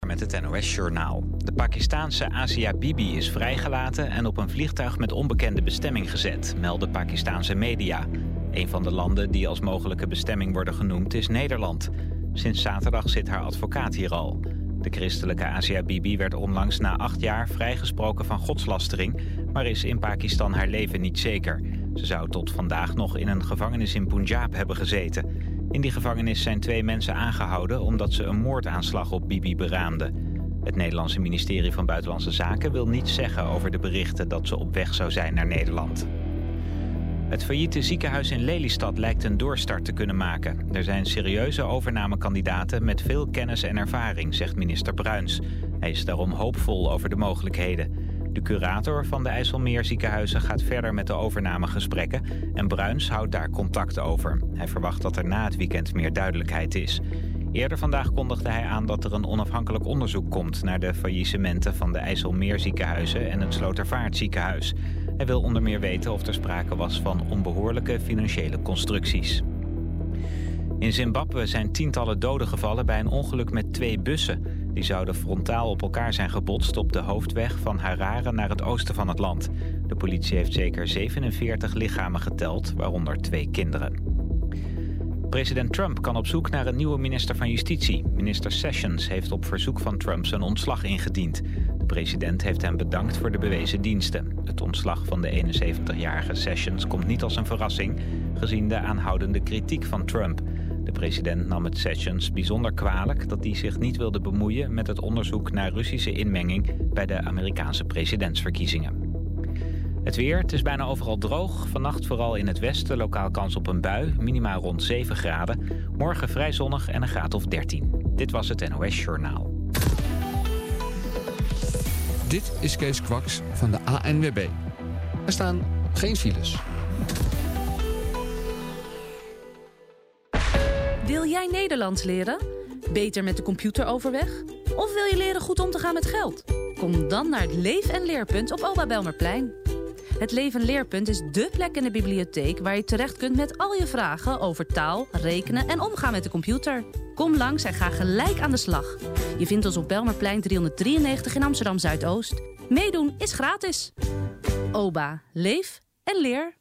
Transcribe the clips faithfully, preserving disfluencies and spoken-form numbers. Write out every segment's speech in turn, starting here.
met het N O S-journaal. De Pakistaanse Asia Bibi is vrijgelaten en op een vliegtuig met onbekende bestemming gezet, melden Pakistaanse media. Een van de landen die als mogelijke bestemming worden genoemd is Nederland. Sinds zaterdag zit haar advocaat hier al. De christelijke Asia Bibi werd onlangs na acht jaar vrijgesproken van godslastering, maar is in Pakistan haar leven niet zeker. Ze zou tot vandaag nog in een gevangenis in Punjab hebben gezeten. In die gevangenis zijn twee mensen aangehouden omdat ze een moordaanslag op Bibi beraamden. Het Nederlandse ministerie van Buitenlandse Zaken wil niets zeggen over de berichten dat ze op weg zou zijn naar Nederland. Het failliete ziekenhuis in Lelystad lijkt een doorstart te kunnen maken. Er zijn serieuze overnamekandidaten met veel kennis en ervaring, zegt minister Bruins. Hij is daarom hoopvol over de mogelijkheden. De curator van de IJsselmeerziekenhuizen gaat verder met de overnamegesprekken en Bruins houdt daar contact over. Hij verwacht dat er na het weekend meer duidelijkheid is. Eerder vandaag kondigde hij aan dat er een onafhankelijk onderzoek komt naar de faillissementen van de IJsselmeerziekenhuizen en het Slotervaartziekenhuis. Hij wil onder meer weten of er sprake was van onbehoorlijke financiële constructies. In Zimbabwe zijn tientallen doden gevallen bij een ongeluk met twee bussen. Die zouden frontaal op elkaar zijn gebotst op de hoofdweg van Harare naar het oosten van het land. De politie heeft zeker zevenenveertig lichamen geteld, waaronder twee kinderen. President Trump kan op zoek naar een nieuwe minister van Justitie. Minister Sessions heeft op verzoek van Trump zijn ontslag ingediend. De president heeft hem bedankt voor de bewezen diensten. Het ontslag van de eenenzeventigjarige Sessions komt niet als een verrassing, gezien de aanhoudende kritiek van Trump. De president nam het Sessions bijzonder kwalijk dat hij zich niet wilde bemoeien met het onderzoek naar Russische inmenging bij de Amerikaanse presidentsverkiezingen. Het weer, het is bijna overal droog. Vannacht vooral in het westen lokaal kans op een bui, minimaal rond zeven graden. Morgen vrij zonnig en een graad of dertien. Dit was het N O S-journaal. Dit is Kees Kwaks van de A N W B. Er staan geen files. Wil jij Nederlands leren? Beter met de computer overweg? Of wil je leren goed om te gaan met geld? Kom dan naar het Leef en Leerpunt op Oba Belmerplein. Het Leef en Leerpunt is dé plek in de bibliotheek waar je terecht kunt met al je vragen over taal, rekenen en omgaan met de computer. Kom langs en ga gelijk aan de slag. Je vindt ons op Belmerplein driehonderddrieënnegentig in Amsterdam Zuidoost. Meedoen is gratis. Oba, leef en leer.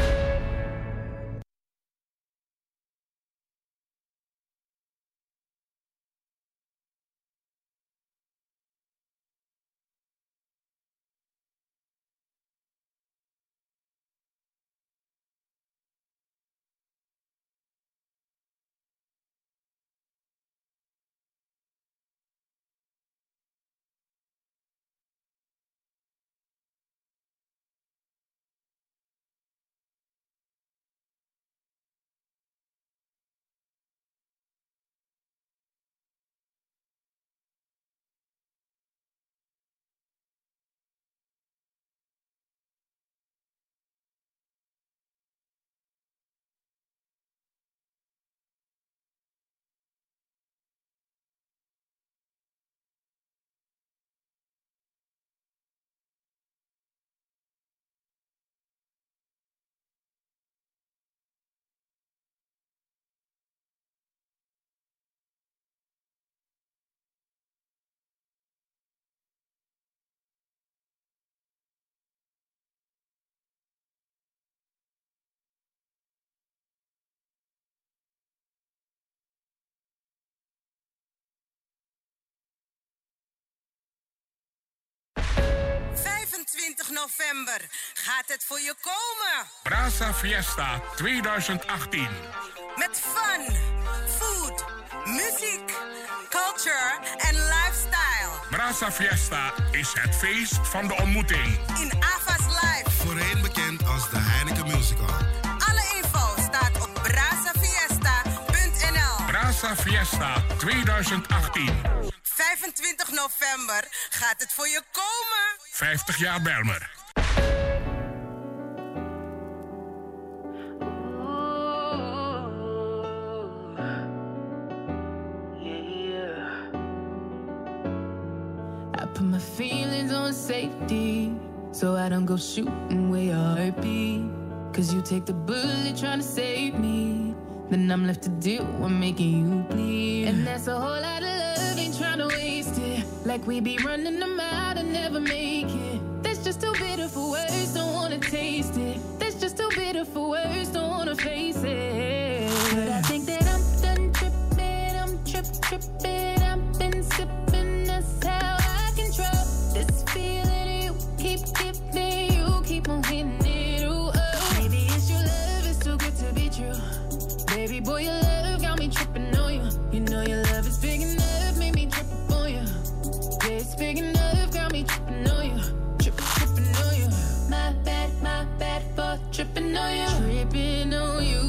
vijfentwintig november gaat het voor je komen. Brasa Fiesta twintig achttien. Met fun, food, muziek, culture en lifestyle. Brasa Fiesta is het feest van de ontmoeting. In Ava's Live. Voorheen bekend als de Heineken Musical. Alle info staat op brasafiesta punt n l. Brasa Fiesta twintig achttien. vijfentwintig november gaat het voor je komen. vijftig jaar Belmer. I put my feelings on safety, so I don't go shooting where your heart be. Cause you take the bullet trying to save me, then I'm left to deal with making you bleed. And that's a whole lot of love, ain't trying to waste it. Like we be running them out and never make it. That's just too bitter for words, don't wanna taste it. That's just too bitter for words, don't wanna face it. But I think that I'm done tripping, I'm trip tripping. I've been sipping, that's how I control this feeling you keep giving. You keep on hitting it, ooh, oh. Maybe it's your love, it's too good to be true. Baby boy, your love got me tripping on you. You know your love is big enough, made me trip on you. Yeah, it's big enough, got me tripping on you. Tripping, tripping on you. My bad, my bad for tripping on you. Tripping on you.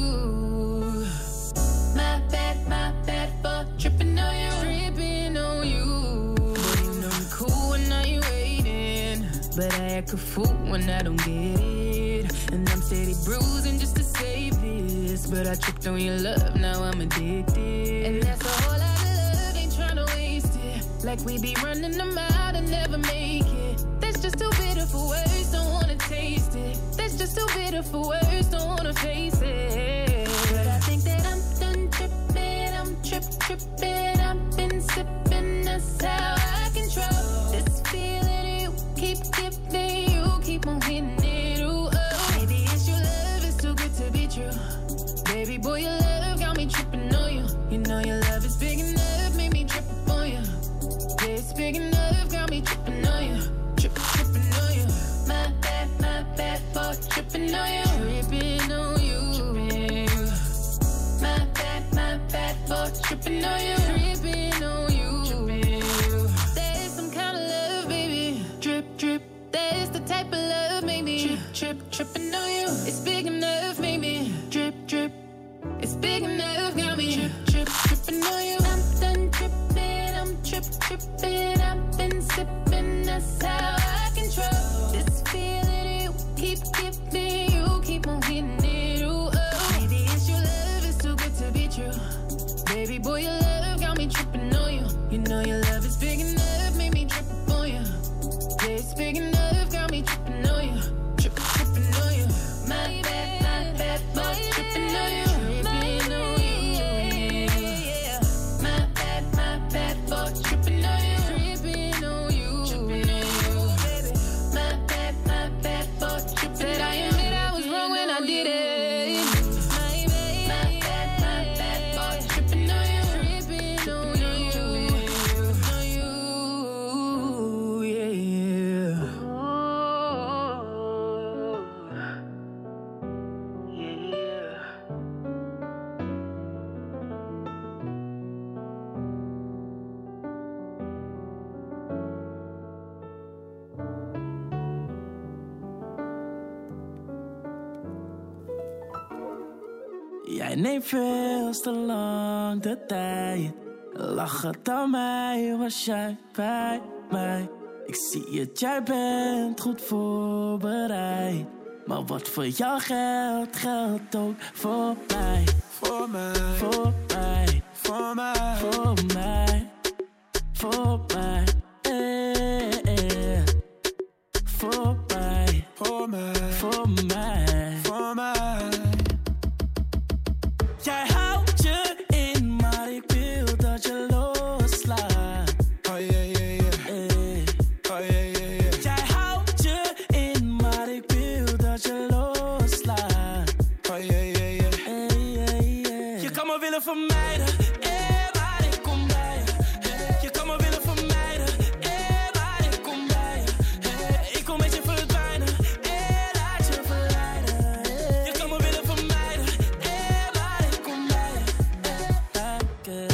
My bad, my bad for tripping on you. Tripping on you. Boy, you know I'm cool when now you waiting, but I act a fool when I don't get it. And I'm steady bruising just to save this, but I tripped on your love, now I'm addicted. And that's a whole lot of love, ain't tryna waste it. Like we be running them out and never make it. That's just too bitter for words, don't wanna taste it. That's just too bitter for words, don't wanna face it. But I think that I'm done tripping, I'm trip tripping. I've been sipping, that's how I control this feeling you keep giving. You keep on hitting it, ooh, oh. Maybe it's your love, it's too good to be true. Baby boy, your love got me tripping on you. You know your love is big enough, made me trip on you. Yeah, it's big enough, got me tripping on you. Tripping, tripping on you. My bad, my bad for tripping on you. Tripping on you. My bad, my bad for tripping on you. Tripping on you. That is some kind of love, baby. Drip, drip. That is the type of love, maybe. Trip, trip, tripping on you. It's big enough, maybe. Drip, drip. It's big enough, got me. Trip, trip, tripping on you. I'm done tripping, I'm trip, tripping. I've been sipping, that's how I control this feeling you keep giving. You keep on hitting it, ooh, oh. Maybe it's your love, it's too good to be true. Baby boy, your love got me tripping on you. You know your love is big enough, made me trip on you. Yeah, it's big enough, got me tripping on you. Tripping, tripping on you. My bad, my bad, for tripping on you. Tripping on you. My bad, my bad, for tripping on you. Tripping on you. Tripping on you, baby. My bad, my bad, for tripping on you. Said I admit I was wrong when I did it. My bad, my bad, my bad, for tripping on you. Tripping on you. On you, yeah. Jij neemt veel te lang de tijd. Lachend aan mij was jij bij mij. Ik zie het, jij bent goed voorbereid. Maar wat voor jou geldt, geldt ook voor mij. Voor mij, Voor mij, voor mij, voor mij, voor mij. Eh, eh. Voor mij, voor mij, voor mij. voor mij. Jij houdt je in, maar ik wil dat je loslaat. Oh yeah, yeah, yeah. Eh. Oh yeah, yeah, yeah. Jij houdt je in, maar ik wil dat je loslaat. Oh yeah, yeah, yeah. Eh, eh, eh. Je kan me willen vermijden, eh, maar ik kom bij je. Eh, Je kan me willen vermijden, eh, maar ik kom bij je. Eh, Ik kom met je verdwijnen, eh, laat je verleiden. Eh, Je kan me willen vermijden, eh, maar ik kom bij je. Eh, dank je.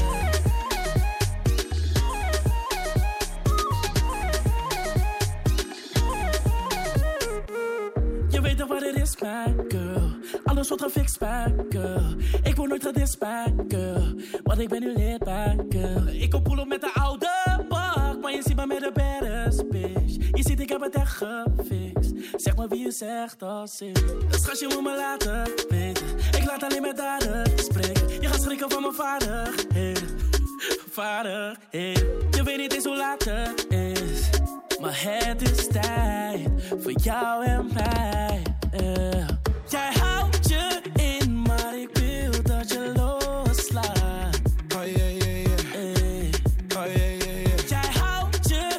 Je weet toch wat het is, my girl. Alles wordt gefixt, my girl. Ik word nooit gedist, my girl. Want ik ben nu lid, my girl. Ik kom pull op met de oude bak, maar je ziet me met de baddest bitch. Je ziet, ik heb het echt gefixt. Zeg maar wie je zegt als ik. Dus schatje, je moet me laten weten. Ik laat alleen met daden spreken. Je gaat schrikken van mijn vaardigheden. Vaardigheden. Je weet niet eens hoe laat het is. Maar het is tijd voor jou en mij. Yeah. Jij houdt je in, maar ik wil dat je loslaat. Oh yeah, yeah, yeah. Hey. Oh yeah, yeah, yeah. Jij houdt je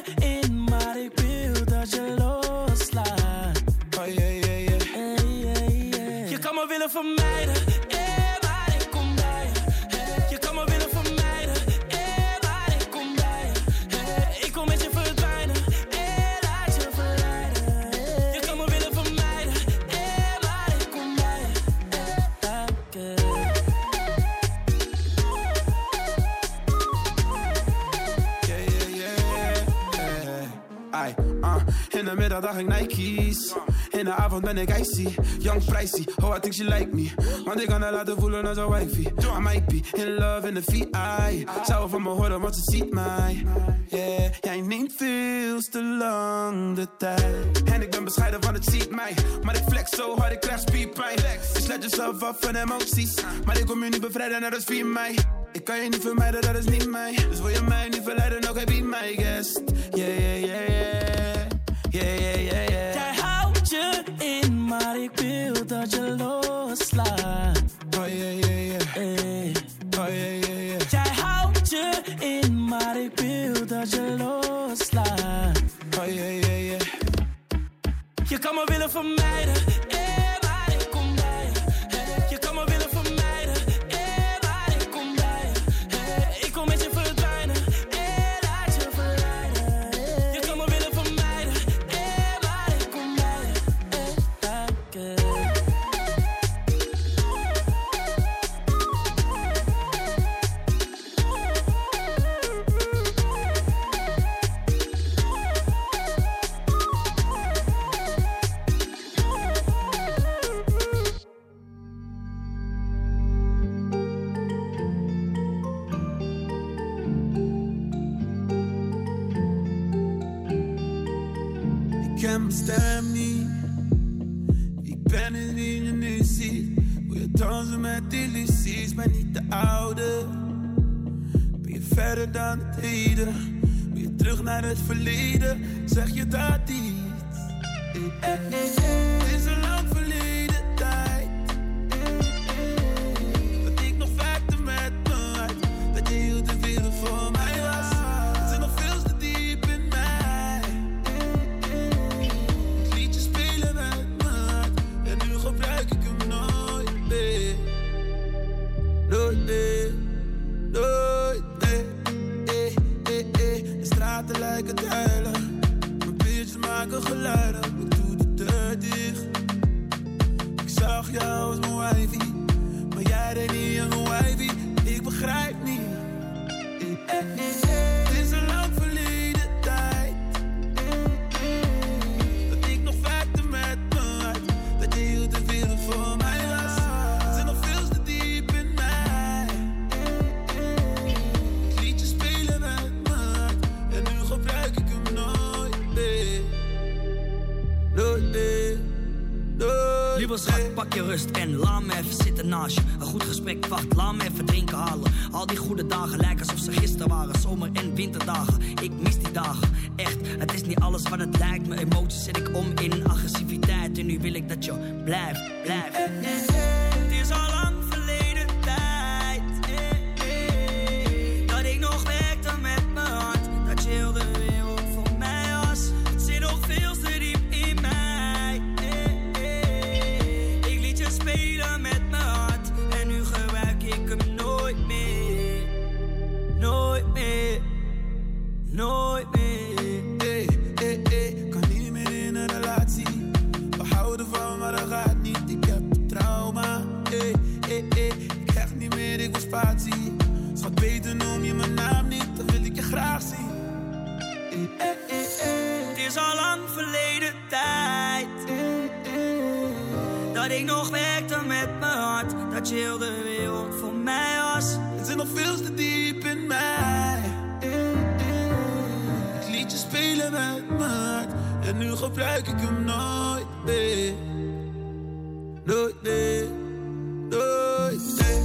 In de middag dag ik Nike's. In de avond ben ik icy, young pricey. Oh, I think she like me. Want ik kan haar laten voelen als een wifey. I might be in love in de V I. Zou van me horen, want ze ziet mij. Yeah, jij neemt veel te lang de tijd. En ik ben bescheiden, want het ziet mij. Maar ik flex zo hard, ik krijg spierpijn. Je sluit jezelf af van emoties. Maar ik kom je niet bevrijden, net als vier mei. Ik kan je niet vermijden, dat is niet mij. Dus wil je mij niet verleiden, oké, be my guest. Yeah, yeah, yeah, yeah. Yeah, yeah, yeah, yeah. Jij houdt je in, maar ik wil dat je loslaat. Oh, yeah, yeah, yeah. Hey. Oh, yeah, yeah, yeah. Jij houdt je in, maar ik wil dat je loslaat. Oh, yeah, yeah, yeah. Je kan me willen vermijden, eh, maar ik kom bij je. Hey. Je kan me willen vermijden, eh, maar ik kom bij je. Hey. Ik kom met je verdwijnen, eh, laat je verleiden. Hey. Je kan me willen vermijden, eh, maar ik kom bij je. Hey. Okay. Ik ken mijn stem niet. Ik ben het die je nu ziet. Wil je dansen met illusies, maar niet de oude. Ben je verder dan het heden? Wil je terug naar het verleden? Zeg je dat iets? Eh, eh, eh, Het is een lang verleden tijd. Dat ik nog werkte met mijn hart. Dat je heel de wereld voor mij was. Het zit nog veel te diep in mij. Het liedje spelen met mijn hart. En nu gebruik ik hem nooit meer. Nooit meer. Nooit meer. Eh, eh, eh. De straten lijken te huilen. Mijn bitches maken geluiden. Ik doe de deur dicht. Ik zag jou als mijn wifey. Maar jij deed niet aan mijn wifey. Ik begrijp niet. Eh, eh, eh. Het is een lang verleden tijd. Dat ik nog werkte met mijn hart. Dat je heel de wereld voor mij was. Het zit nog veel te diep in mij. Het liedje spelen met mijn hart. En nu gebruik ik hem nooit meer. Nooit meer. Nooit Lieve schat, pak je rust en laat me even zitten naast je. Een goed gesprek, wacht, laat me even drinken halen. Al die goede dagen lijken alsof ze gisteren waren. Zomer- en winterdagen, ik mis die dagen. Echt, het is niet alles wat het lijkt. Mijn emoties zet ik om in agressiviteit. En nu wil ik dat je blijft, blijft. Het is al lang verleden tijd. Dat ik nog werkte met mijn hart. Dat je heel de wereld voor mij was. Het zit nog veel te diep in mij. Ik liet je spelen met mijn hart. En nu gebruik ik hem nooit meer. Nooit meer. Nooit meer. Hey, hey, hey, kan niet meer in een relatie. We houden van, maar dat gaat niet. Ik heb trauma. Hey, hey, hey, ik krijg niet meer, ik wil spatie. Schat, beter noem je mijn naam niet, dan wil ik je graag zien. Hey, hey, hey, hey. Het is al lang verleden tijd. Dat ik nog werkte met mijn hart. Dat je heel de wereld voor mij was. Het zit nog veel te diep in mij. Het liedje spelen met mijn hart. En nu gebruik ik hem nooit meer. Nooit meer. Nooit meer.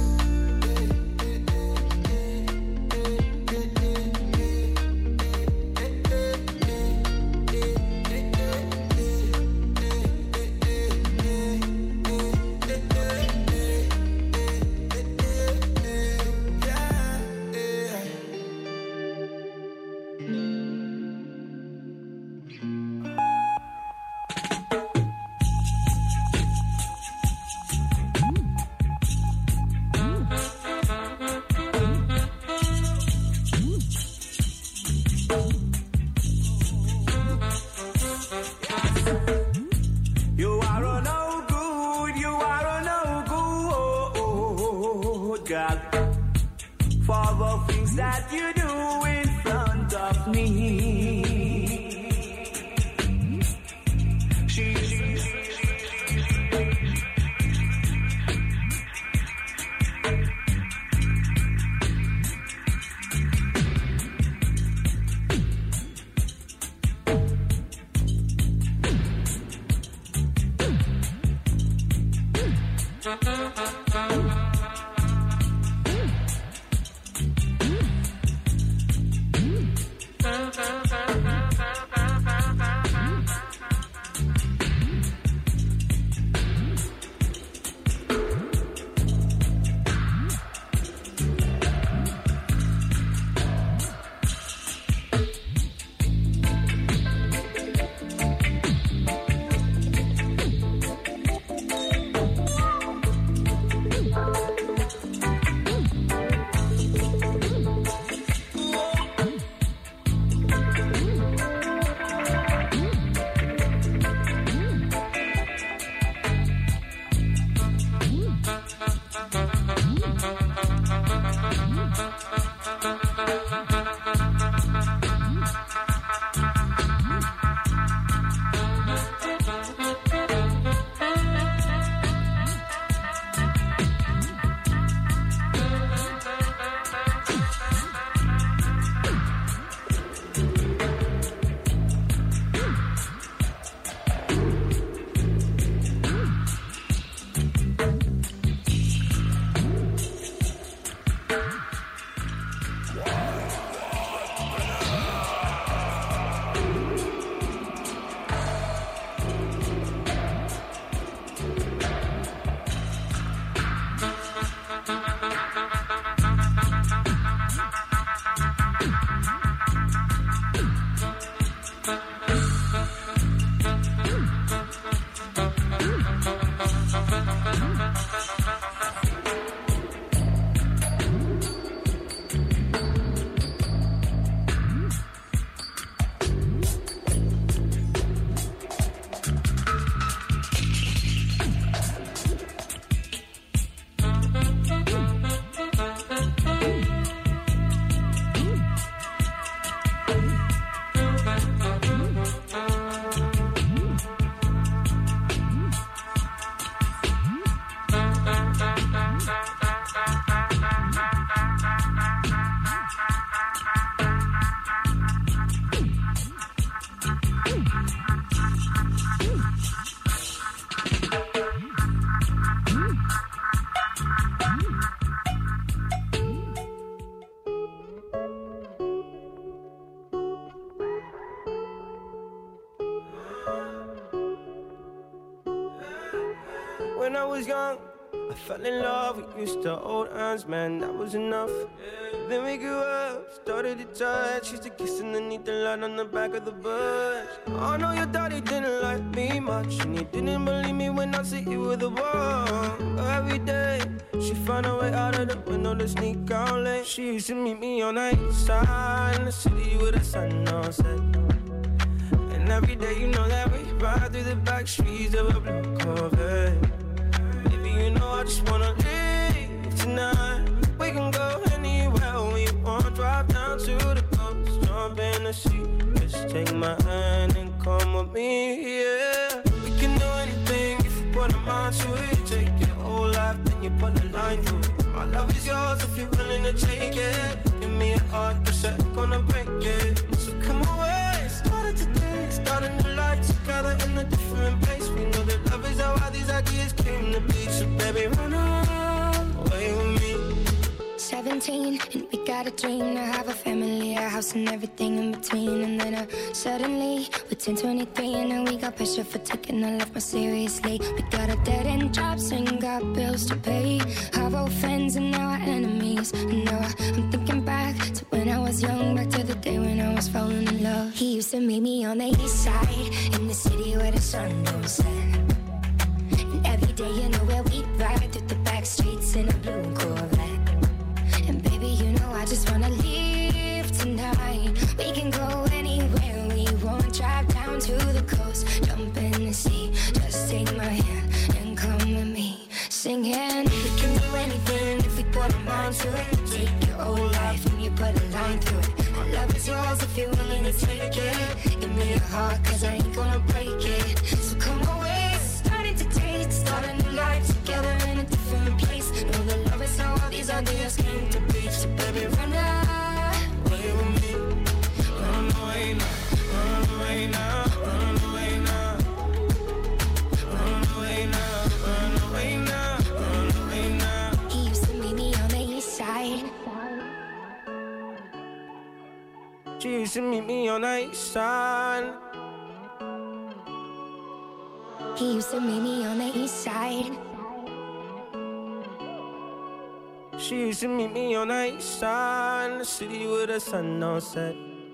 That you do in front of me. when I was young, I fell in love, we used to hold hands, man, that was enough. Then we grew up, started to touch, used to kiss underneath the light on the back of the bus. I know your daddy didn't like me much, and he didn't believe me when I said you were the one. But every day, she found a way out of the window to sneak out late. She used to meet me on the east side, in the city with the sun on set. And every day, you know that we ride through the back streets of a blue Corvette. Baby, you know I just wanna leave tonight. We can go anywhere we want. Drive down to the coast, jump in the sea. Just take my hand and come with me, yeah. We can do anything if you put a mind to it. Take your whole life, then you put a line through it. My love is yours if you're willing to take it. Give me a heart, cause I'm gonna break it. So come away, started today. Starting the life together in a different place. We know that love is how these ideas came to be. So baby, run away with me. seventeen, and we got a dream to have a family, a house and everything in between. And then uh, suddenly, we're ten twenty-three, and now we got pressure for taking our life more seriously. We got a dead-end jobs and got bills to pay. Our old friends and now our enemies. And now I, I'm thinking back to when I was young, back to the day when I was falling in love. He used to meet me on the east side, in the city where the sun don't set. And every day, you know where we ride through the back streets in a blue Corvette. And baby, you know I just wanna leave tonight. We can go anywhere we want. Drive down to the coast, jump in the sea. Just take my hand and come with me, singing. We can do anything if we put a mind to it. Take your whole life and you put a line through it. My love is yours if you're willing to take it. Give me your heart, cause I ain't gonna break it. So come away, starting to date, start a new life together in a different place. Know that love is how all these ideas came to be. So baby, run away with me. Run away now, run away now, run away now. Run away now, run away now, run away now. He used to meet me on the east side. She used to meet me on the east side. He used to meet me on the east side. She used to meet me on the east side, in the city with the sun on set.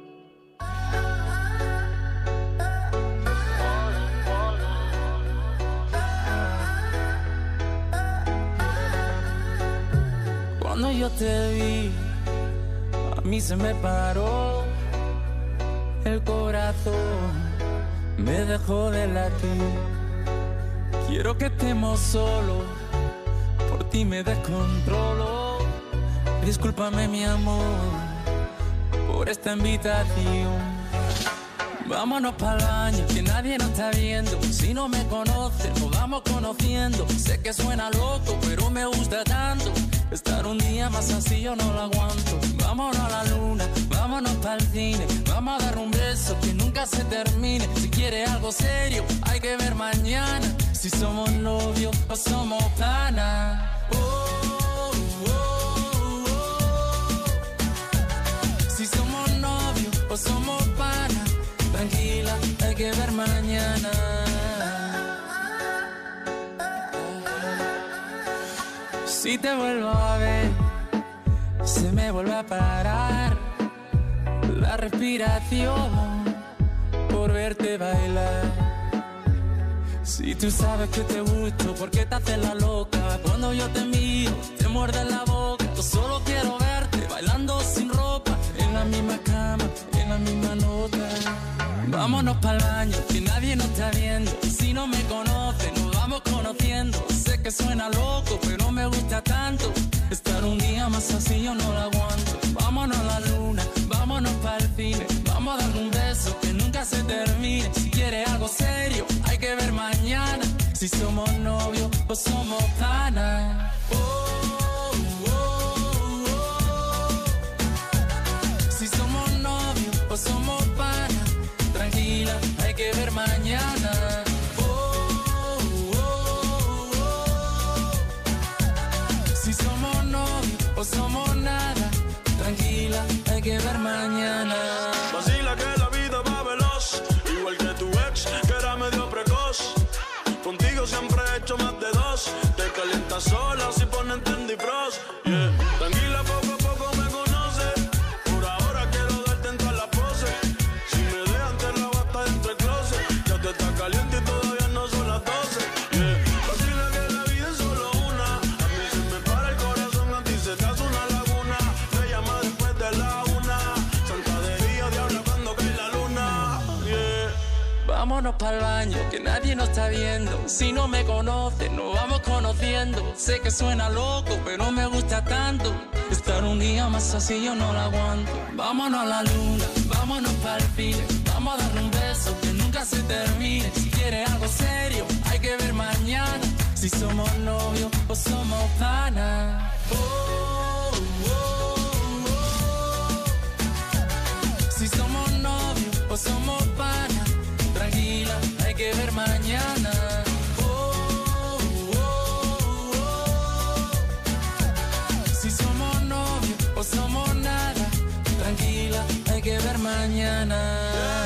Cuando yo te vi, a mí se me paró el corazón, me dejó de latir. Quiero que estemos solos, por ti me descontrolo. Discúlpame mi amor por esta invitación. Vámonos pa'l baño, que nadie nos está viendo. Si no me conoces, nos vamos conociendo. Sé que suena loco, pero me gusta tanto. Estar un día más así yo no lo aguanto. Vámonos a la luna, vámonos pa'l cine. Vamos a dar un beso que nunca se termine. Si quieres algo serio, hay que ver mañana. Si somos novios o somos panas. Oh, oh, oh, oh. Si somos novios o somos panas. Tranquila, hay que ver mañana. Si te vuelvo a ver, se me vuelve a parar la respiración por verte bailar. Si tú sabes que te gusto, ¿por qué te haces la loca? Cuando yo te miro, te muerde la boca. Yo solo quiero verte bailando sin ropa, en la misma cama, en la misma nota. Vámonos pa'l baño, que nadie nos está viendo. Si no me conoces, nos vamos conociendo. Sé que suena loco, pero me gusta tanto. Estar un día más así yo no lo aguanto. Vámonos a la luna, vámonos pa'l cine. Vamos a dar un beso que nunca se termine. Si quieres algo serio, hay que ver mañana. Si somos novios o somos panas. Oh, oh, oh, oh. Si somos novios o somos panas. Tranquila, hay que ver mañana. Oh, oh, oh, oh. Si somos novios o somos nada. Tranquila, hay que ver mañana. Vacila que la vida va veloz, igual que tu ex, que era medio precoz. Contigo siempre he hecho más de dos. Vámonos pa'l baño, que nadie nos está viendo. Si no me conoces, nos vamos conociendo. Sé que suena loco, pero me gusta tanto. Estar un día más así yo no lo aguanto. Vámonos a la luna, vámonos pa'l cine. Vamos a darle un beso que nunca se termine. Si quieres algo serio, hay que ver mañana. Si somos novios o somos panas. Oh, oh, oh. Si somos novios o somos panas. Tranquila, hay que ver mañana. Oh, oh, oh. Si somos novios o somos nada. Tranquila, hay que ver mañana.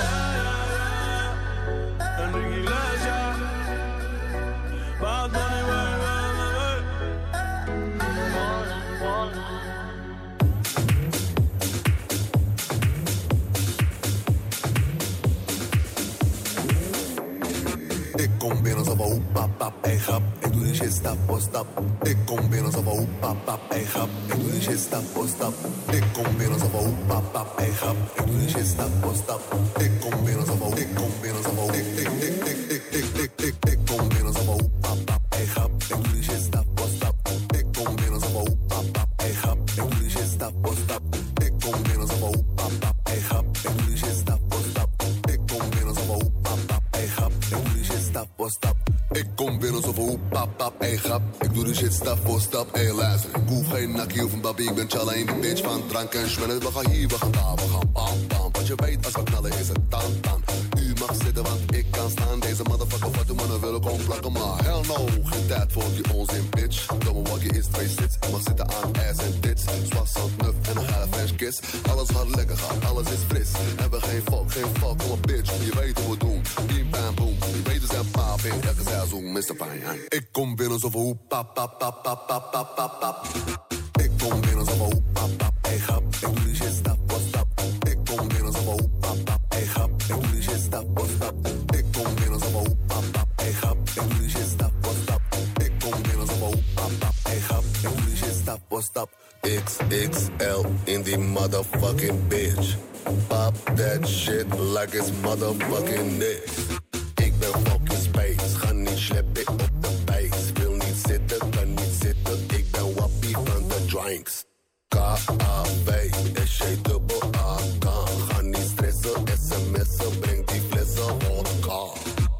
Ik kom binnen zo van hoe pap pap, ey grap. Ik doe die shit stap voor stap. Ik kom binnen zo van hoe pap pap, ey grap. Ik doe die shit stap voor stap. Ik kom binnen zo van hoe pap pap, ey grap. Ik doe die shit stap voor stap. Ik kom binnen zo van, ik kom binnen zo van, ik ik ik ik ik ik ik ik ik kom binnen zo van hoe pap pap, ey grap. Ik doe die shit stap voor stap. Ik kom binnen zo van hoe pap pap, ey grap. Ik doe die shit stap voor stap. Ik kom binnen zo van hoe pap pap, ey grap. Ik doe die shit stap voor stap. Ik kom binnen zo van hoe pap pap, ey grap. Ik doe die shit stap voor stap. Ik kom binnen zo van hoe pap pap, ey grap. Ik doe die shit stap voor stap, ey luister. Ik hoef geen nakkie of een babi, ik ben challa in die bitch van drank en schwellen. We gaan hier, we gaan daar, we gaan bam bam. Want je weet als we knallen is het dan dan. U mag zitten want ik kan staan. Deze motherfucker wat de mannen willen komen plakken. Maar hell no, geen tijd voor die onzin bitch. Domme waggie is twee sits. Ik mag zitten aan ass en tits. Zwas, zand, nuf en een geile French kiss. Alles gaat lekker gaan, alles is fris. Hebben geen fuck, geen fuck, kom op bitch. Je weet hoe we doen, bim bam boom. Je weet dus zijn paap in elke seizoen, mister Fine. Ik kom binnen zo van hoe pap pap pap pap pap pap pap pap. Ik kom binnen zo van hoe pap pap, ey grap. Ik doe die shit stap voor stap. Ik kom binnen zo van hoe pap pap, ey grap. Ik doe die shit stap voor stap. Ik kom binnen zo van hoe pap pap, ey grap. Ik doe die shit stap voor stap. Ik kom binnen zo van hoe pap pap, ey grap. Ik doe die shit stap voor stap. X X L in die motherfucking bitch. Pop that shit like it's motherfucking this. Ik ben fucking space, ga niet sleppen op de base. Wil niet zitten, kan niet zitten. Ik ben wappie van de drinks. K A W S J dubbel A K. Ga niet stressen, sms'en, breng die flessen vodka.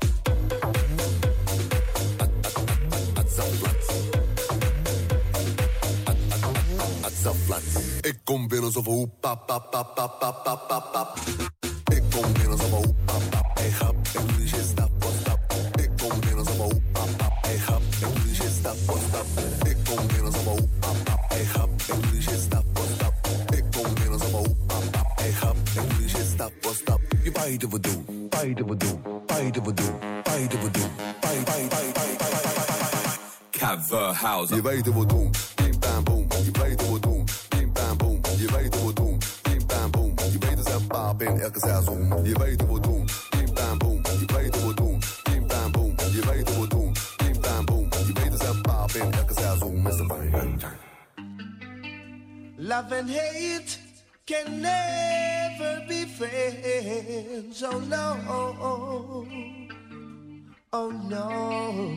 Ik kom binnen zo van hoe pap pap pap pap pap pap pap pap. Ik kom binnen zo van hoe pap pap, ey grap. Ik doe die shit stap voor stap. Ik kom binnen zo van hoe pap pap, ey grap. Ik doe die shit stap voor stap. Ik kom binnen zo van hoe pap pap, ey grap. Ik doe die shit stap voor stap. Ik kom binnen zo van hoe pap pap, ey grap. Ik doe die shit stap voor stap. Je beide we doen, beide we doen, beide we doen, beide we doen, beide beide beide beide. Cover house. Je weet hoe we doen, bim bam boom. Je weet hoe we doen. Je weet hoe we doen, bim bam boom. Je weet dus een paap in elke seizoen. Je weet hoe we doen, bim bam boom. Je weet hoe we doen, bim bam boom. Je weet hoe we doen, bim bam boom. Je weet dus een paap in elke seizoen. mister Fine. Love and hate can never be friends. Oh no, oh no.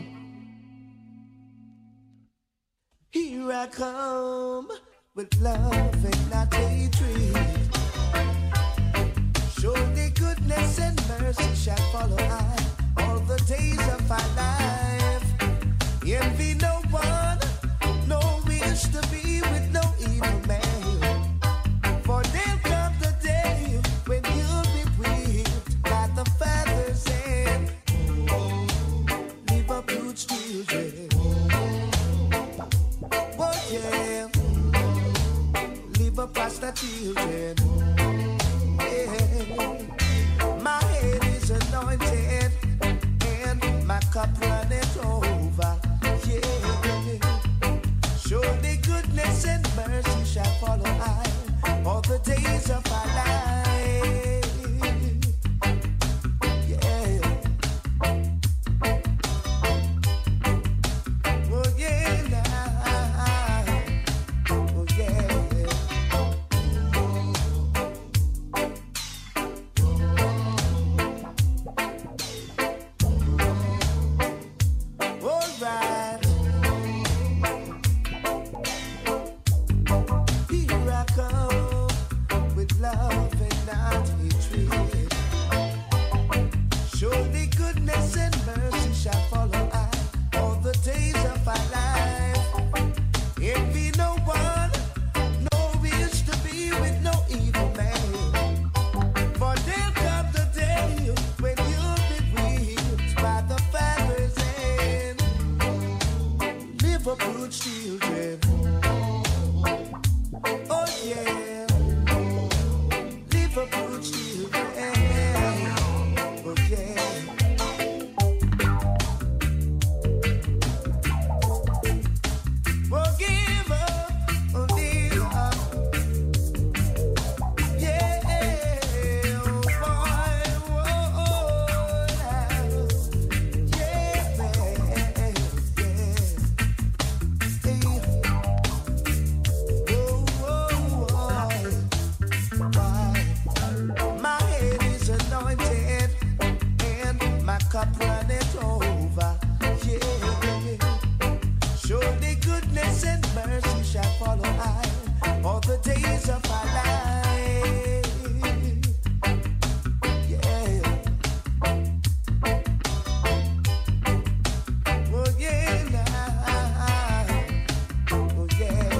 Here I come. With love and not hatred. Surely goodness and mercy shall follow I all the days of my life. Envy no one, no wish to be with no evil man. For there'll come the day when you'll be whipped by the father's hand. Leave up huge children. Oh yeah. Leave up past the children. Yeah. My cup runneth over. Yeah. Surely goodness and mercy shall follow I all the days of our life. Yeah. Oh yeah, nah. Oh yeah.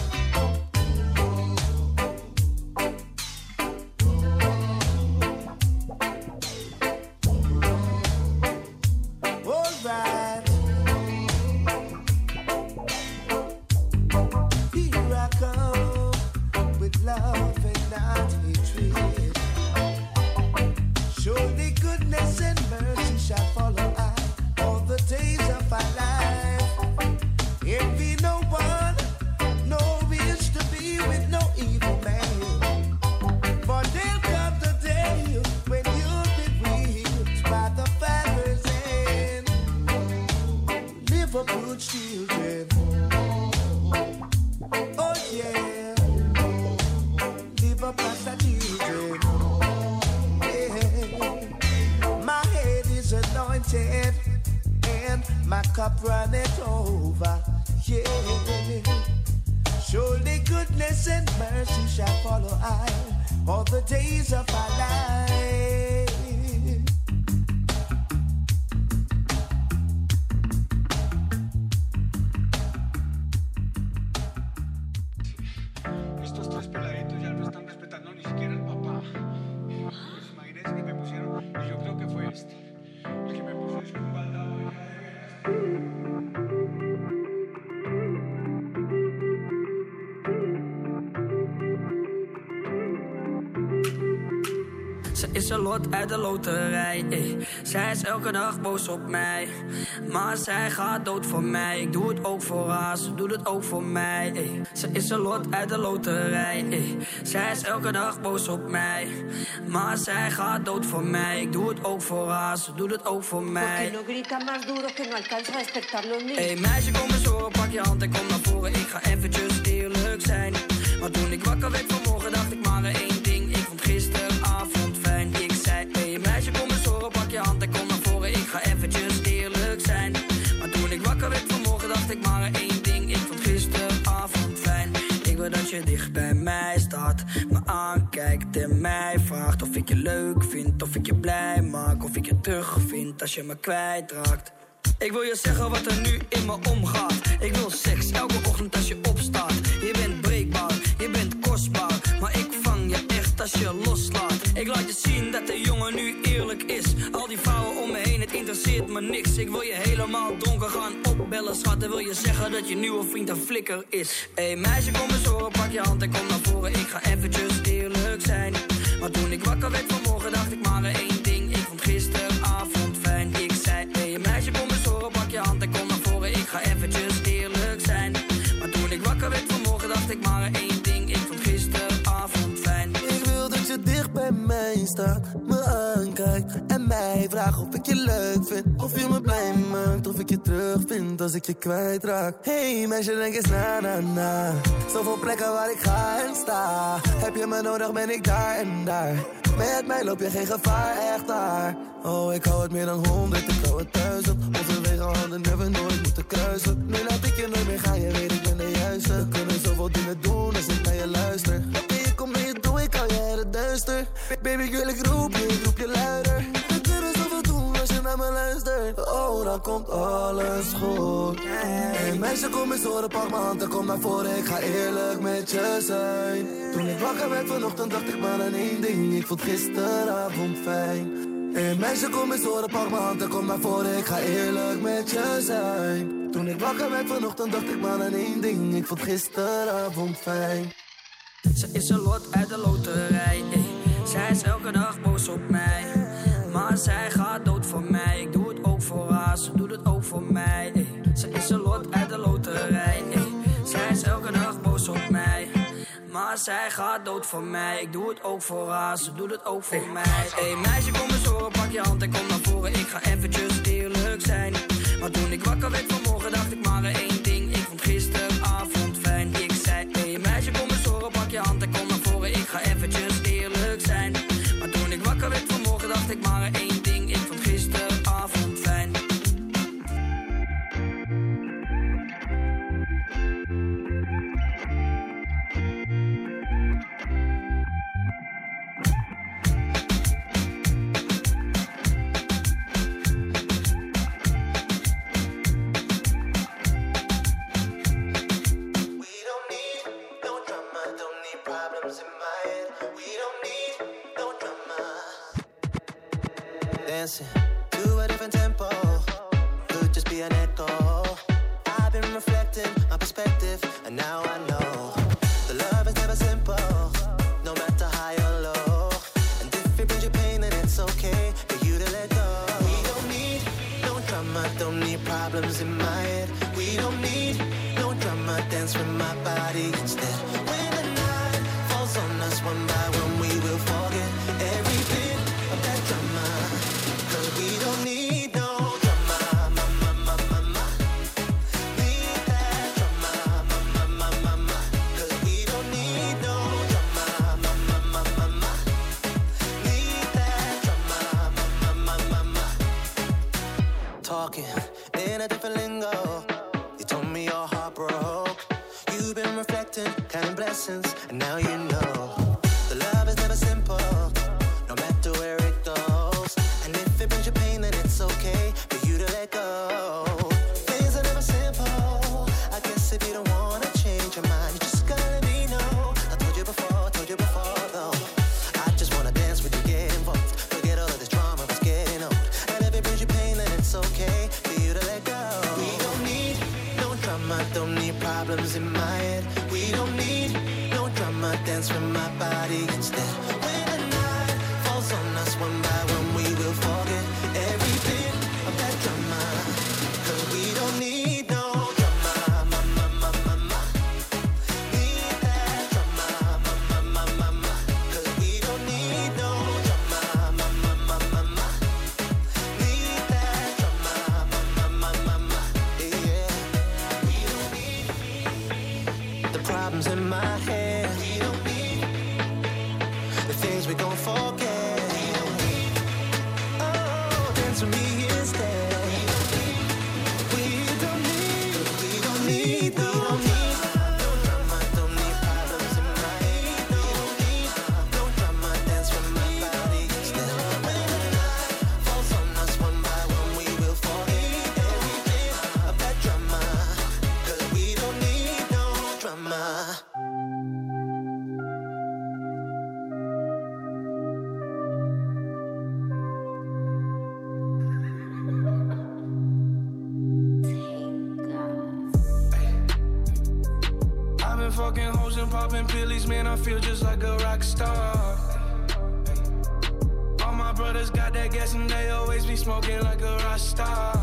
All right. Here I come with love and not hatred. Surely goodness and mercy shall follow I all the days of our life. Envy no one, no wish to be with no evil man. For there'll come the day when you'll be whipped by the Father's hand. Live up good children. Oh yeah, live up as a children. Yeah. My head is anointed and my cup runneth over. Yeah. Surely goodness and mercy shall follow I all the days of our life. Estos tres peladitos ya no están respetando ni siquiera al papá. Pues imagínense que me pusieron, y yo creo que fue este, el que me puso es un baldado ya de veras. Ze is een lot uit de loterij, ey. Zij is elke dag boos op mij, maar zij gaat dood voor mij. Ik doe het ook voor haar, ze doet het ook voor mij, ey. Ze is een lot uit de loterij, ey. Zij is elke dag boos op mij, maar zij gaat dood voor mij. Ik doe het ook voor haar, ze doet het ook voor mij. no grita más duro que no alcanza a despertar los niños. Hey meisje, kom eens horen, pak je hand en kom naar voren. Ik ga eventjes eerlijk zijn. Maar toen ik wakker werd vanmorgen dacht ik maar één ding. Ik vond gisteravond fijn. Ik zei, hey meisje, kom eens horen, pak je hand en kom naar voren. Ik ga eventjes eerlijk zijn. Maar toen ik wakker werd vanmorgen dacht ik maar één ding. Ik vond gisteravond fijn. Ik wil dat je dicht bij mij staat, me aankijkt en mij vraagt of ik je leuk vind, of ik je blij maak, of ik je terug vind als je me kwijtraakt. Ik wil je zeggen wat er nu in me omgaat. Ik wil seks elke ochtend als je opstaat. Je bent breekbaar, je bent kostbaar, maar ik vang je echt als je loslaat. Ik laat je zien dat de jongen nu eerlijk is. Al die vrouwen om me heen, het interesseert me niks. Ik wil je helemaal dronken gaan opbellen, schat. En wil je zeggen dat je nieuwe vriend een flikker is. Hey meisje, kom eens horen, pak je hand en kom naar voren. Ik ga eventjes eerlijk zijn. Maar toen ik wakker werd vanmorgen dacht ik maar één ding. Ik vond gisteravond fijn. Ik zei, hey meisje, kom eens horen, pak je hand en kom naar voren. Ik ga eventjes eerlijk zijn. Maar toen ik wakker werd vanmorgen dacht ik maar één ding. Ik vond gisteravond fijn. Ik wil dat je dicht bij mij staat, me aankijkt en mij vraagt of ik je leuk vind, of je me blij maakt, of ik je terug vind als ik je kwijtraak. Hey meisje, denk eens na na na. Zoveel plekken waar ik ga en sta. Heb je me nodig, ben ik daar en daar. Met mij loop je geen gevaar, echt daar. Oh, ik hou het meer dan honderd, ik hou het duizend. Onze wegen handen hebben nooit moeten kruisen. Nu laat ik je nooit meer gaan, je weet ik ben de juiste. We kunnen zoveel dingen doen als ik naar je luister. Oké, ik kom mee, doe ik hou je uit het duister. Baby, ik wil ik roep je, ik roep je luider. We kunnen zoveel doen als je naar me luistert. Oh, dan komt alles goed. Hey meisje, kom eens horen, pak m'n hand en kom naar voren. Ik ga eerlijk met je zijn. Toen ik wakker werd vanochtend dacht ik maar aan één ding. Ik vond gisteravond fijn. Hey meisje, kom eens horen, pak m'n hand en kom naar voren. Ik ga eerlijk met je zijn. Toen ik wakker werd vanochtend dacht ik maar aan één ding. Ik vond gisteravond fijn. Ze is een lot uit de loterij, ey. Zij is elke dag boos op mij, maar zij gaat dood voor mij. Ik doe het ook voor haar, ze doet het ook voor mij, ey. Ze is een lot uit de loterij, ey. Zij is elke dag boos op mij, maar zij gaat dood voor mij. Ik doe het ook voor haar, ze doet het ook voor mij. Hey meisje, kom eens horen, pak je hand en kom naar voren. Ik ga eventjes eerlijk zijn. Maar toen ik wakker werd vanmorgen dacht ik maar één ding. Ik vond gisteravond fijn. Ik zei, hey meisje, kom eens horen, pak je hand en kom naar voren. Ik ga eventjes eerlijk zijn. Maar toen ik wakker werd vanmorgen dacht ik maar één ding. Ik vond gisteravond dancing to a different tempo. Could just be an echo. I've been reflecting my perspective, and now I know the love is never simple, no matter high or low. And if it brings you pain, then it's okay for you to let go. We don't need no drama, don't need problems in my head. We don't need no drama, dance with my body instead. When the night falls on us one by one, we will forget every bit of that drama. Cause we don't need no drama, ma, ma, ma, ma, ma. Need that drama, ma, ma, ma, ma, ma. Cause we don't need no drama, ma, ma, ma, ma, ma. Need that drama, ma, ma, ma, ma, ma. Talking in a different lingo. You told me your heart broke. You've been reflecting, counting blessings, and now you know the love is never simple, no matter where it goes. And if it brings you pain, then it's okay for you to let go. Things are never simple. I guess if you don't wanna change your mind, you just gotta let me know. I told you before, told you before though. I just wanna dance with you, get involved. Forget all of this drama, it's getting old. And if it brings you pain, then it's okay for you to let go. We don't need no drama, don't need problems in my head. We don't need no drama, dance with my body instead. When the night falls on us one by one, we will forget every bit of that drama. Cause we don't need no drama, ma, ma, ma, ma, ma. Need that drama, ma, ma, ma, ma, ma. Cause we don't need no drama, ma, ma, ma, ma, ma. Need that drama, ma, ma, ma, ma, ma. Yeah, we don't need the problems in my head. We don't need the things we gon' forget. We don't need, oh, dance with me instead. We don't need, we don't need, we don't need no drama, don't need problems in my head. We don't need no drama, dance with my body instead. When the night falls on us one by one, we will forget every bit of that drama. Cause we don't need no drama. I've been fucking hoes and popping pillies, man, I feel just like a rock star. All my brothers got that gas and they always be smoking like a rock star.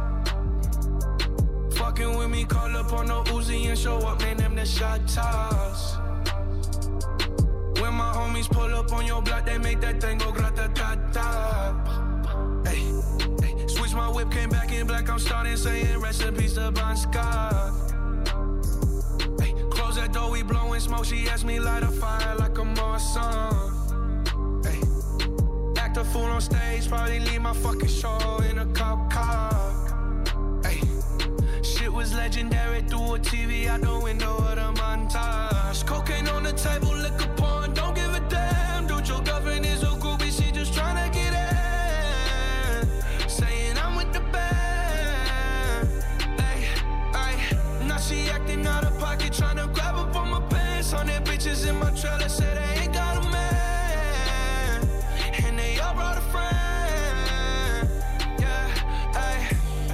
Fucking with me, call up on the Uzi and show up, man, them the shot toss. When my homies pull up on your block, they make that thing go grata-ta-ta. Hey, hey, switch my whip, came back in black, I'm starting saying recipes to Bon Scott. Hey, close that door, we blowing smoke, she asked me light a fire like a Marsan. Hey, act a fool on stage, probably leave my fucking show in a cop car. Hey, shit was legendary through a T V out the window of the montage. Cocaine on the table, liquor porn, don't give a damn. Dude, your girlfriend is a groupie, she just tryna get in. Saying I'm with the band. Ay, ay, now she acting out of pocket, tryna grab up on my pants. On their bitches in my trailer, say they ain't got a man. And they all brought a friend. Yeah, ay.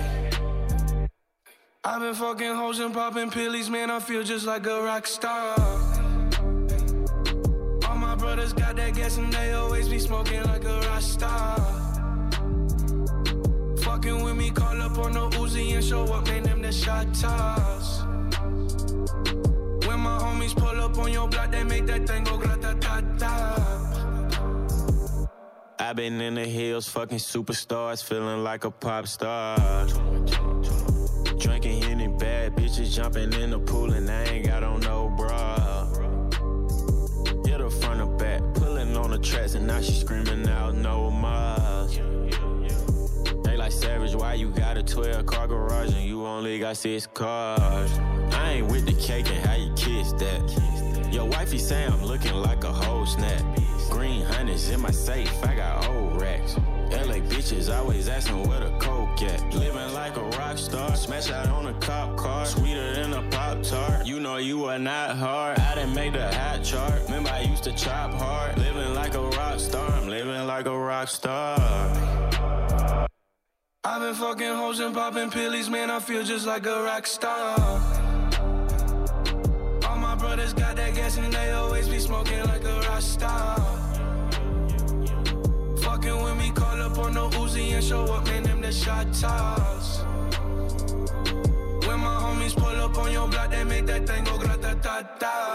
I've been fucking hoes and popping pillies, man, I feel just like a rock star. All my brothers got that gas and they always be smoking like a rock star. Fucking with me, call up on the Uzi and show up, man, them the shot toss. When my homies pull up on your block, they make that thing go grata-ta-ta. I've been in the hills, fucking superstars, feeling like a pop star. Drinking Henny, bad bitches jumping in the pool and I ain't got on no bra. Hit her front or back, pulling on the tracks and now she screaming out no more. They like Savage, why you got a twelve car garage and you only got six cars? I ain't with the cake and how you kiss that. Your wifey say I'm looking like a whole snap. Green hundreds in my safe, I got old racks. L A bitches always asking where the coke at. Living like a rock star, smash out on a cop car. Sweeter than a Pop-Tart, you know you are not hard. I done made the hot chart, remember I used to chop hard. Living like a rock star, I'm living like a rock star. I've been fucking hoes and popping pillies, man, I feel just like a rock star. All my brothers got that gas and they always be smoking like a rock star. Fucking with me, call up on the Uzi and show up, man, them the shot toss. When my homies pull up on your block, they make that thing go grata-ta-ta.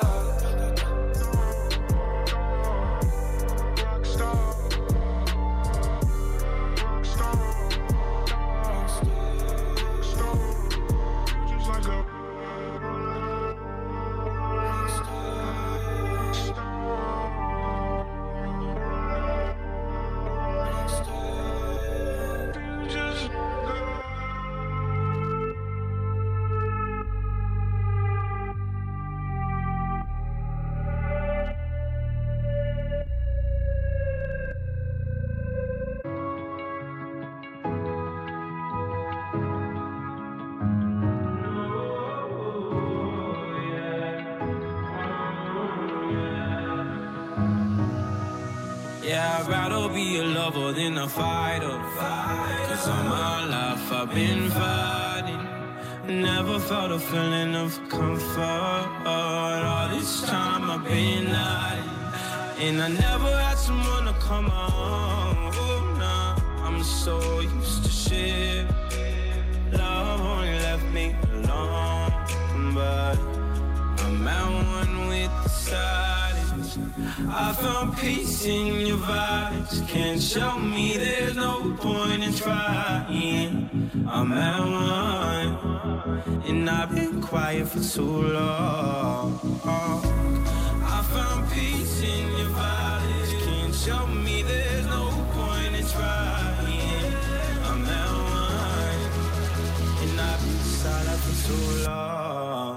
Yeah, I'd rather be a lover than a fighter. Cause all my life I've been fighting. Never felt a feeling of comfort. All this time I've been hiding. And I never had someone to come on. Oh, nah, I'm so used to shit. Love only left me alone. But I'm at one with the silence. I found peace in your vibes. Can't show me there's no point in trying. I'm at one, and I've been quiet for too long. I found peace in your vibes. Can't show me there's no point in trying. I'm at one, and I've been silent for too long.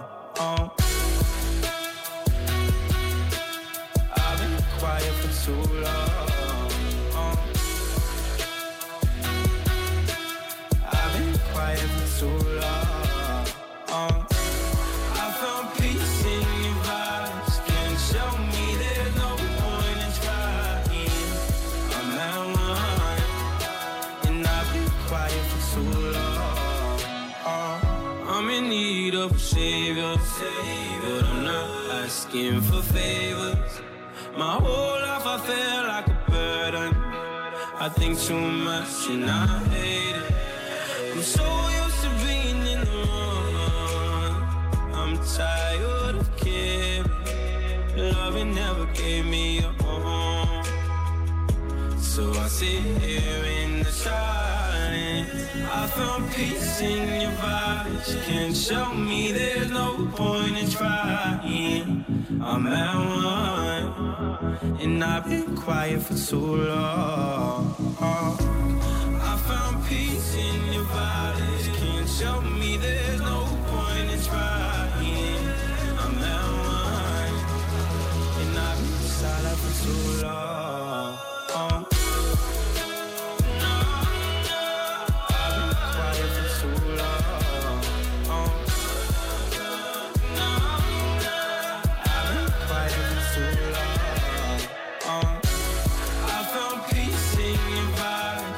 Quiet for too long. Uh. I've been quiet for too long. Uh. I found peace in your vibes. Can't show me there's no point in trying. I'm at one, and I've been quiet for too long. Uh. I'm in need of a savior, but I'm not asking for favors. My whole life I feel like a burden. I think too much and I hate it. I'm so used to being in the wrong. I'm tired of caring. Love never gave me a home. So I sit here in the silence. I found peace in your vibes. Can't show me there's no point in trying. I'm at one, and I've been quiet for too long. I found peace in your bodies. Can't show me there's no point in trying. I'm at one, and I've been silent for too long. No, no, I've been quiet for too long. No, no, I've been quiet for too long. Uh, I found peace in your vibe.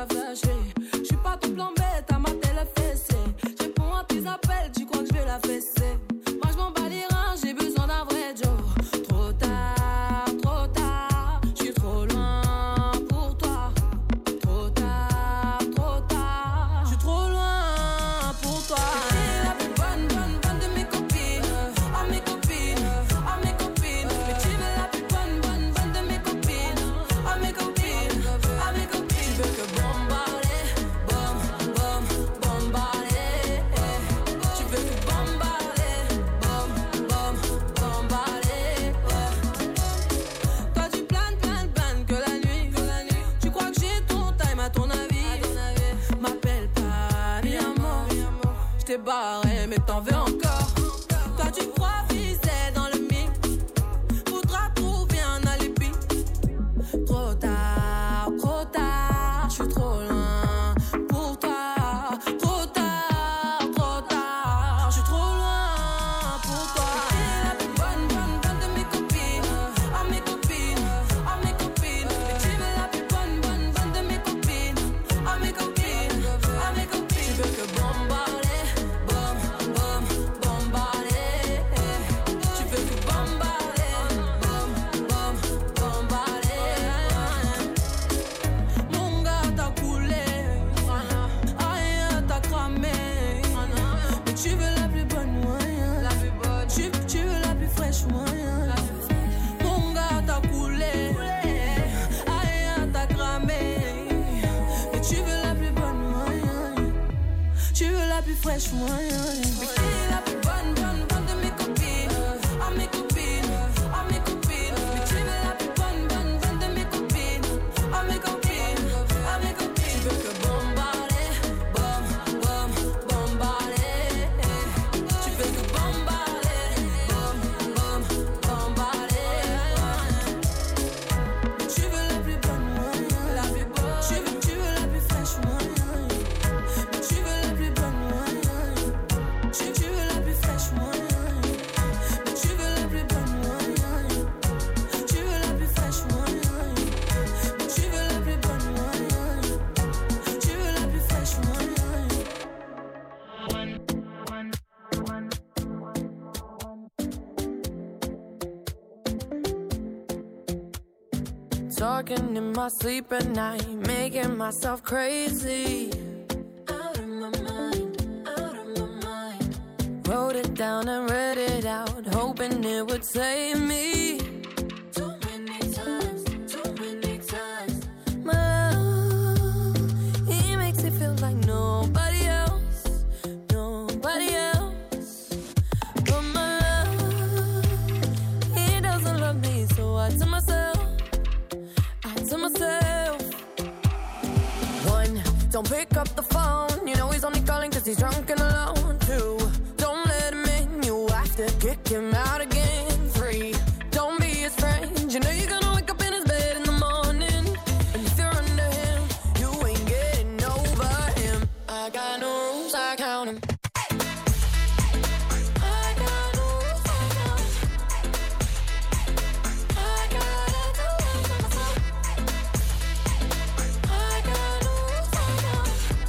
t'as flashé. J'suis pas ton plan bête, à mater la fessée. J'réponds à tes appels, tu crois que j'vais la fesser. Moi j'm'en bats les reins, j'ai besoin d'un vrai Joe. Trop tard, trop tard, j'suis trop loin pour toi. Trop tard, trop tard, j'suis trop loin pour toi. T'es la plus bonne, bonne, bonne de mes copines. Oh mes copines, oh mes copines. Mais tu veux la plus bonne, bonne, bonne de mes copines. Oh mes copines, oh mes copines. Tu veux que bombarder, bom, bom, bombarder. Tu veux que bombarder, bom, bom, bombarder. Toi tu planes, planes, planes que la nuit, que la nuit. Tu crois que j'ai ton time à ton avis. M'appelle pas mi amor. J't'ai barré mais t'en veux encore. Toi tu crois viser dans le mix. Faudra trouver un alibi. Trop tard, trop tard, j'suis trop loin pour toi. Trop tard, trop tard, j'suis trop loin pour toi. T'es la plus bonne, bonne, bonne de mes copines. Oh mes copines, oh mes copines. Mais tu veux la plus bonne, bonne, bonne de mes copines. Oh mes copines, oh mes copines. Tu veux que bombarder, bom, bom, bombarder. Tu veux que bombarder, bom, bom, bombarder. Mon gars t'as coulé, aïe t'as cramé. Mais tu veux la plus bonne moyen. Tu, tu veux la plus fraîche moyen. Mon gars t'as coulé, aïe t'as cramé. Mais tu veux la plus bonne moyen. Tu veux la plus fraîche moyen. Mais qui est la plus bonne, bonne, bonne de mes copines. Oh mes copines, oh mes copines. Mais tu veux la plus bonne, bonne, bonne de mes copines. Oh mes copines, oh mes copines. Tu veux que bombarder, bom, bom, bombarder. Tu veux que bombarder, bom, bom, bombarder. Mais tu veux la plus bonne moyen. La plus bonne. Tu veux, tu veux la plus fraîche moyen. Mais tu veux la plus bonne moyen. Tu, tu veux la plus fraîche moyen. Mais tu veux la plus bonne moyen. Tu veux la plus fraîche moyen. Mais tu veux la plus bonne moyen. Tu veux la plus fraîche moyen. Talking in my sleep at night, making myself crazy. Out of my mind, out of my mind. Wrote it down and read it out, hoping it would save me. Too many times, too many times. My love, he makes it feel like nobody else, nobody else. But my love, he doesn't love me, so I tell myself, I tell myself. One, don't pick up the phone, you know he's only calling cause he's drunk and alone. Two, don't let him in, you have to kick him out again. Three, don't be his friend, you know you're gonna wake up in his bed in the morning. And if you're under him, you ain't getting over him. I got no rules, I count him. I got no rules, I count him. I gotta do it for myself. I got no rules, I count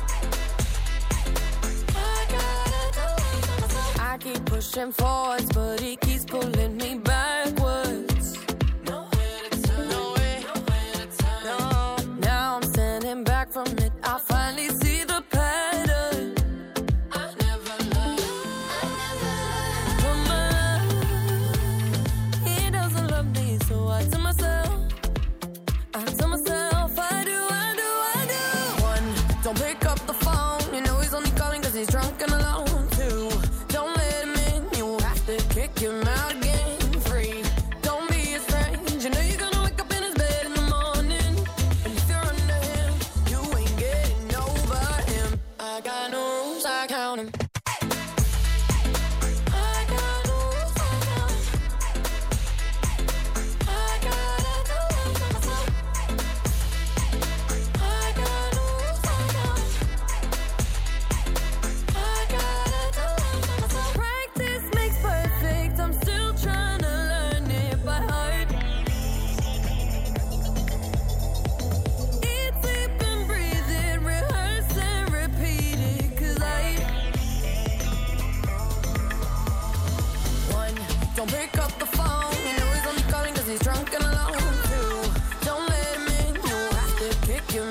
him. I gotta do it for myself. I keep pushing forwards, but he keeps pulling me backwards. Nowhere to turn, nowhere, nowhere to turn. No, now I'm standing back from it. I finally see the pattern. I never loved, I never loved. But my love, he doesn't love me, so I tell myself, I tell myself, I do, I do, I do. One, don't pick up the phone, you know he's only calling cause he's drunk and alone. Two, don't let him in, you have to kick him out again.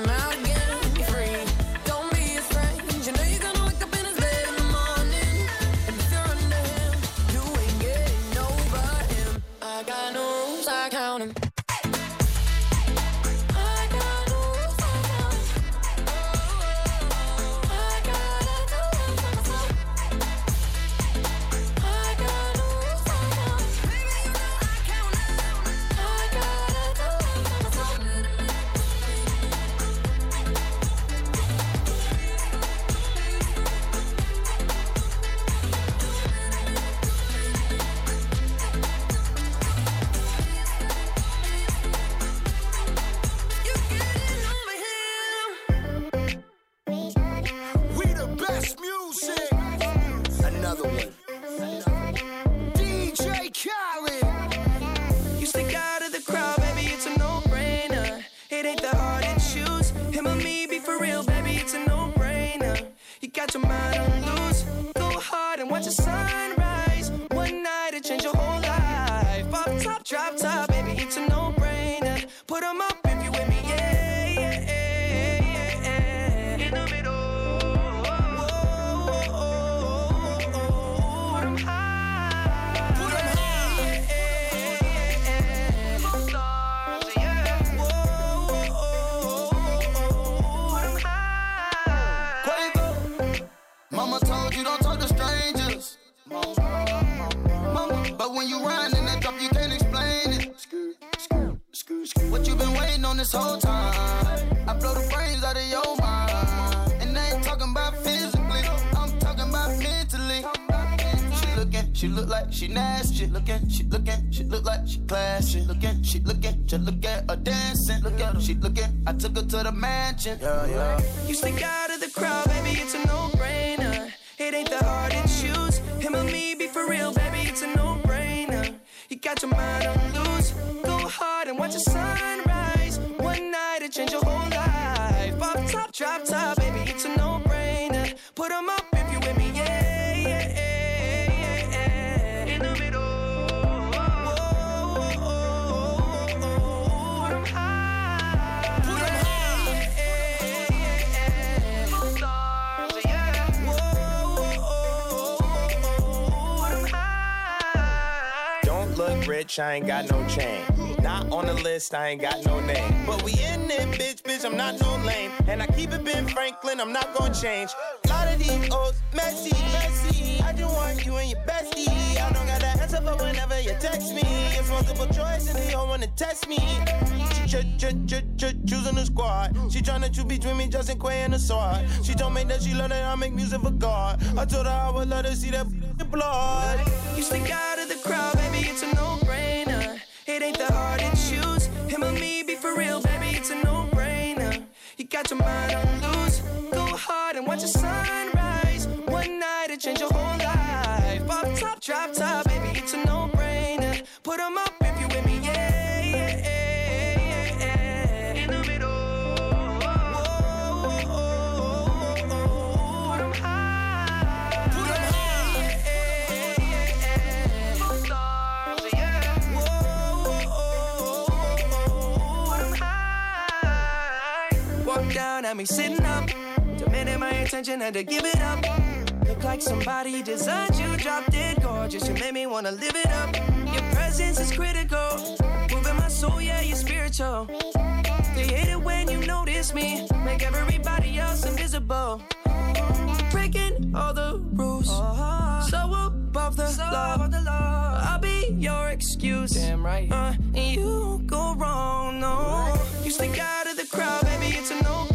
I'm out again, free. Don't be a strange. You know you're gonna wake up in his bed in the morning. And if you're under him, you ain't getting over him. I got no rules, I count him. She look like she nasty. She looking, she looking, she look like she classy. Looking, she looking, just look at her dancing. Look at her, she looking. I took her to the mansion. Yeah, yeah. You stick out of the crowd, baby, it's a no-brainer. It ain't the hard to choose. Him or me, be for real, baby, it's a no-brainer. You got your mind on loose. Go hard and watch the sunrise. One night it change your whole life. Pop top, drop top, baby, it's a no-brainer. Put 'em up if you with me, yeah, yeah, yeah. Rich, I ain't got no chain. Not on the list, I ain't got no name. But we in it, bitch, bitch, I'm not no lame. And I keep it Ben Franklin, I'm not gonna change. A lot of these old messy, messy. I just want you and your bestie. I don't got that answer for whenever you text me. It's multiple choice and they all wanna test me. She ch ch ch ch choosing the squad. She tryna choose between me, Justin Quay and the sword. She told me that she love that I make music for God. I told her I would let her see that blood. You stick out of the crowd, baby, it's a no-brainer. It ain't the hard to choose. Him or me, be for real, baby, it's a no-brainer. You got your mind on loose. Go hard and watch the sunrise. One night it change your whole life. Pop top, drop top, baby, it's a no-brainer. Put 'em up if you with me, yeah, yeah, yeah, yeah. In the middle. Down at me sitting up, demanding my attention, had to give it up. Look like somebody designed you, drop dead gorgeous. You made me wanna live it up. Your presence is critical, moving my soul, yeah, you're spiritual. They hate it when you notice me, make everybody else invisible. Breaking all the rules, so above the law. I'll be your excuse, damn right. Uh, and you go wrong, no. You stick out of the crowd, baby, it's a no.